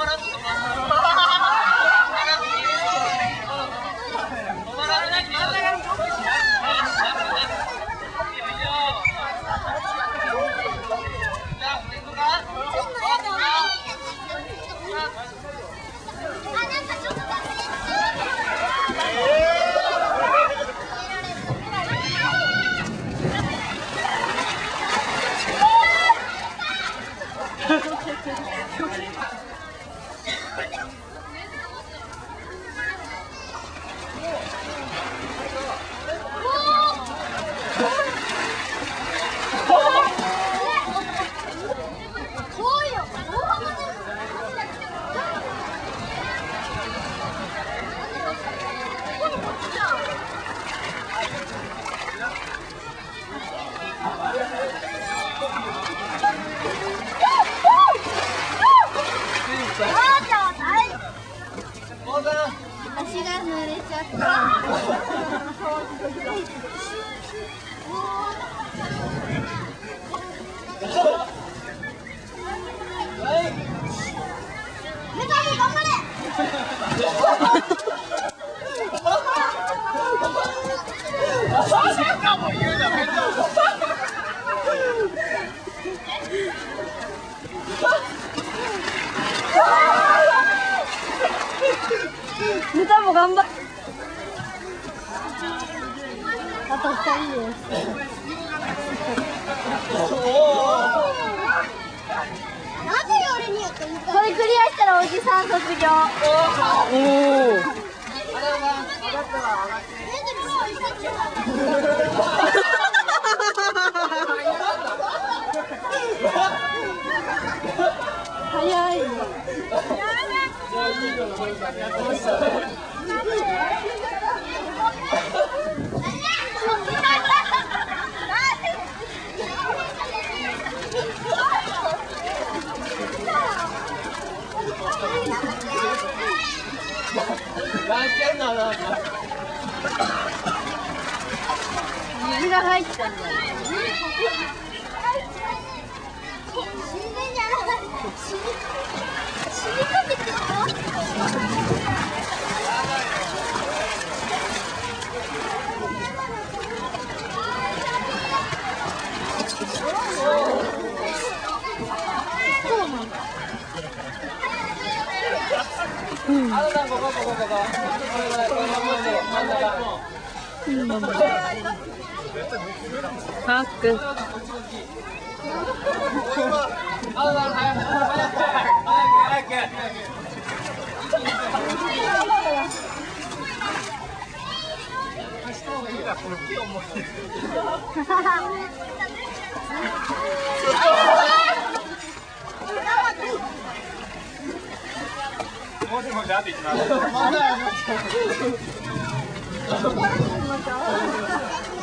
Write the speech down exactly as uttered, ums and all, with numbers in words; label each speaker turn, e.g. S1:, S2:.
S1: 足が濡れちゃった。頑張れ。ネタも頑張っ。あとふたりです。なぜ俺にやってみたい。これクリアしたらおじさん卒業。おお。早い。水が入ったんだよ。死んでんじゃない。死に死にかけてるの。うん。あのさんここここここ。うん。ハック。あのさん早く早く早く。した方がいいからこの木重い。もしもしあといきます。